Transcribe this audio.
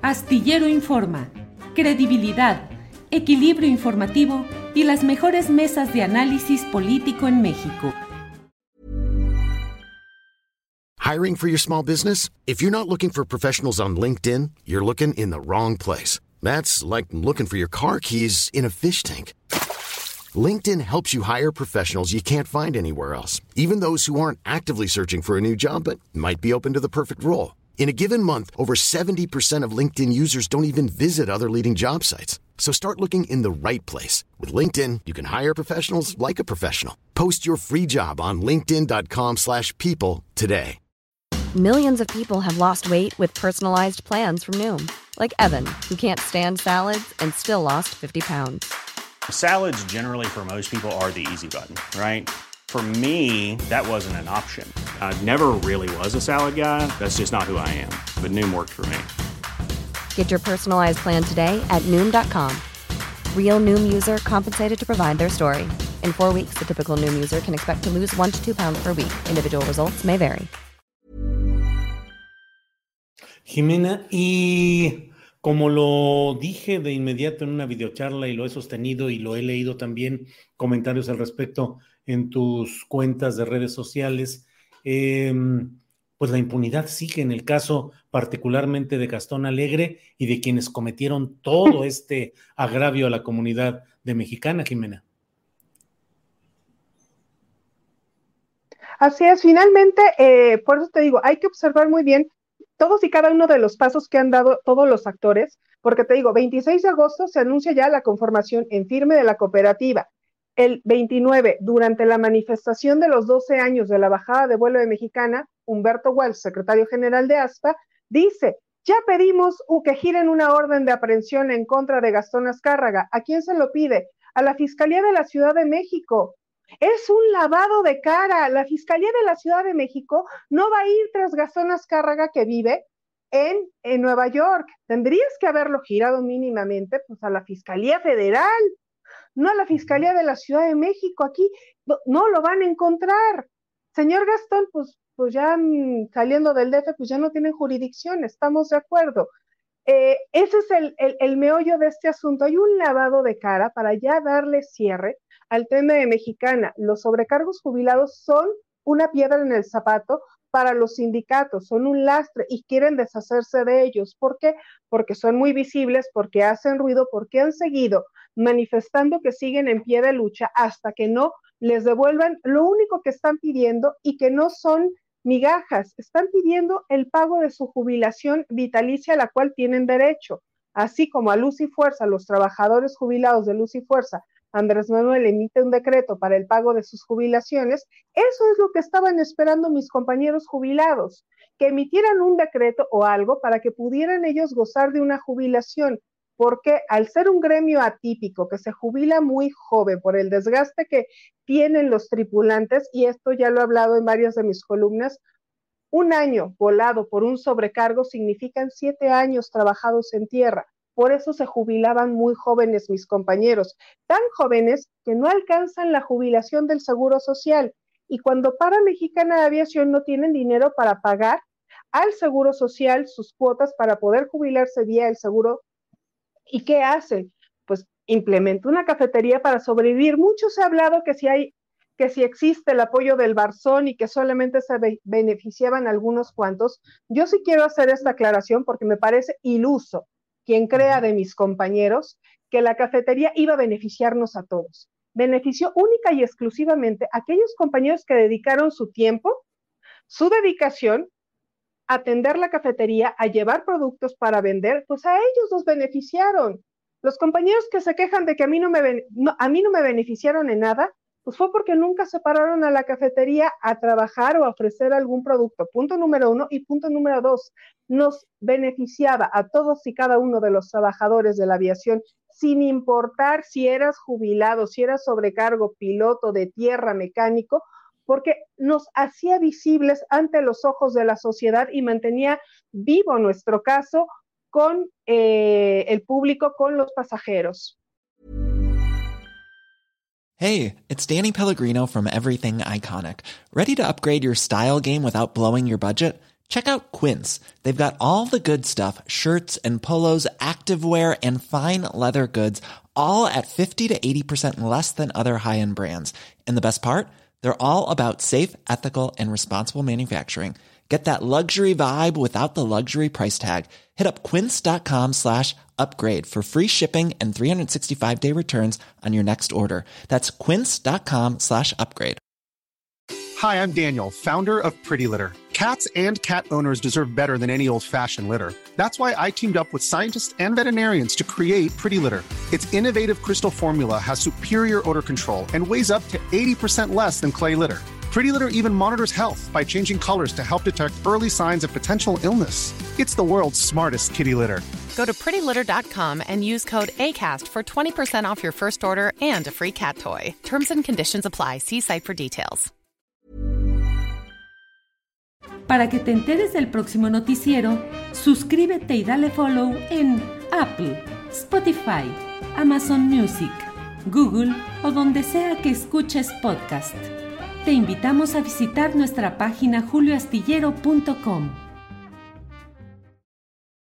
Astillero Informa, credibilidad, equilibrio informativo y las mejores mesas de análisis político en México. Hiring for your small business? If you're not looking for professionals on LinkedIn, you're looking in the wrong place. That's like looking for your car keys in a fish tank. LinkedIn helps you hire professionals you can't find anywhere else, even those who aren't actively searching for a new job but might be open to the perfect role. In a given month, over 70% of LinkedIn users don't even visit other leading job sites. So start looking in the right place. With LinkedIn, you can hire professionals like a professional. Post your free job on linkedin.com/people today. Millions of people have lost weight with personalized plans from Noom. Like Evan, who can't stand salads and still lost 50 pounds. Salads generally for most people are the easy button, right? For me, that wasn't an option. I never really was a salad guy. That's just not who I am. But Noom worked for me. Get your personalized plan today at Noom.com. Real Noom user compensated to provide their story. In 4 weeks, the typical Noom user can expect to lose 1 to 2 pounds per week. Individual results may vary. Jimena, y como lo dije de inmediato en una videocharla y lo he sostenido y lo he leído también comentarios al respecto en tus cuentas de redes sociales, pues la impunidad sigue en el caso particularmente de Gastón Alegre y de quienes cometieron todo este agravio a la comunidad de Mexicana, Jimena. Así es, finalmente, por eso te digo, hay que observar muy bien todos y cada uno de los pasos que han dado todos los actores, porque te digo, 26 de agosto se anuncia ya la conformación en firme de la cooperativa. El 29, durante la manifestación de los 12 años de la bajada de vuelo de Mexicana, Humberto Wells, secretario general de ASPA, dice, ya pedimos que giren una orden de aprehensión en contra de Gastón Azcárraga. ¿A quién se lo pide? A la Fiscalía de la Ciudad de México. Es un lavado de cara. La Fiscalía de la Ciudad de México no va a ir tras Gastón Azcárraga, que vive en Nueva York. Tendrías que haberlo girado mínimamente pues, a la Fiscalía Federal, no a la Fiscalía de la Ciudad de México. Aquí no lo van a encontrar. Señor Gastón, pues ya saliendo del DF, pues ya no tienen jurisdicción, estamos de acuerdo. Ese es el meollo de este asunto. Hay un lavado de cara para ya darle cierre al tema de Mexicana. Los sobrecargos jubilados son una piedra en el zapato para los sindicatos, son un lastre y quieren deshacerse de ellos. ¿Por qué? Porque son muy visibles, porque hacen ruido, porque han seguido manifestando que siguen en pie de lucha hasta que no les devuelvan lo único que están pidiendo y que no son migajas, están pidiendo el pago de su jubilación vitalicia a la cual tienen derecho, así como a Luz y Fuerza, los trabajadores jubilados de Luz y Fuerza, Andrés Manuel emite un decreto para el pago de sus jubilaciones. Eso es lo que estaban esperando mis compañeros jubilados, que emitieran un decreto o algo para que pudieran ellos gozar de una jubilación, porque al ser un gremio atípico que se jubila muy joven por el desgaste que tienen los tripulantes, y esto ya lo he hablado en varias de mis columnas, un año volado por un sobrecargo significan 7 años trabajados en tierra. Por eso se jubilaban muy jóvenes mis compañeros, tan jóvenes que no alcanzan la jubilación del Seguro Social. Y cuando para Mexicana de Aviación no tienen dinero para pagar al Seguro Social sus cuotas para poder jubilarse vía el seguro, ¿y qué hacen? Pues implementa una cafetería para sobrevivir. Mucho se ha hablado que si existe el apoyo del Barzón y que solamente se beneficiaban algunos cuantos. Yo sí quiero hacer esta aclaración porque me parece iluso quien crea de mis compañeros que la cafetería iba a beneficiarnos a todos. Benefició única y exclusivamente a aquellos compañeros que dedicaron su tiempo, su dedicación, a atender la cafetería, a llevar productos para vender, pues a ellos los beneficiaron. Los compañeros que se quejan de que a mí no me beneficiaron en nada, pues fue porque nunca se pararon a la cafetería a trabajar o a ofrecer algún producto. Punto número 1. Y punto número 2, nos beneficiaba a todos y cada uno de los trabajadores de la aviación, sin importar si eras jubilado, si eras sobrecargo, piloto de tierra, mecánico, porque nos hacía visibles ante los ojos de la sociedad y mantenía vivo nuestro caso con el público, con los pasajeros. Hey, it's Danny Pellegrino from Everything Iconic. Ready to upgrade your style game without blowing your budget? Check out Quince. They've got all the good stuff, shirts and polos, activewear, and fine leather goods, all at 50 to 80% less than other high-end brands. And the best part? They're all about safe, ethical, and responsible manufacturing. Get that luxury vibe without the luxury price tag. Hit up quince.com/upgrade for free shipping and 365-day returns on your next order. That's quince.com/upgrade. Hi, I'm Daniel, founder of Pretty Litter. Cats and cat owners deserve better than any old-fashioned litter. That's why I teamed up with scientists and veterinarians to create Pretty Litter. Its innovative crystal formula has superior odor control and weighs up to 80% less than clay litter. Pretty Litter even monitors health by changing colors to help detect early signs of potential illness. It's the world's smartest kitty litter. Go to prettylitter.com and use code ACAST for 20% off your first order and a free cat toy. Terms and conditions apply. See site for details. Para que te enteres del próximo noticiero, suscríbete y dale follow en Apple, Spotify, Amazon Music, Google o donde sea que escuches podcast. Te invitamos a visitar nuestra página julioastillero.com.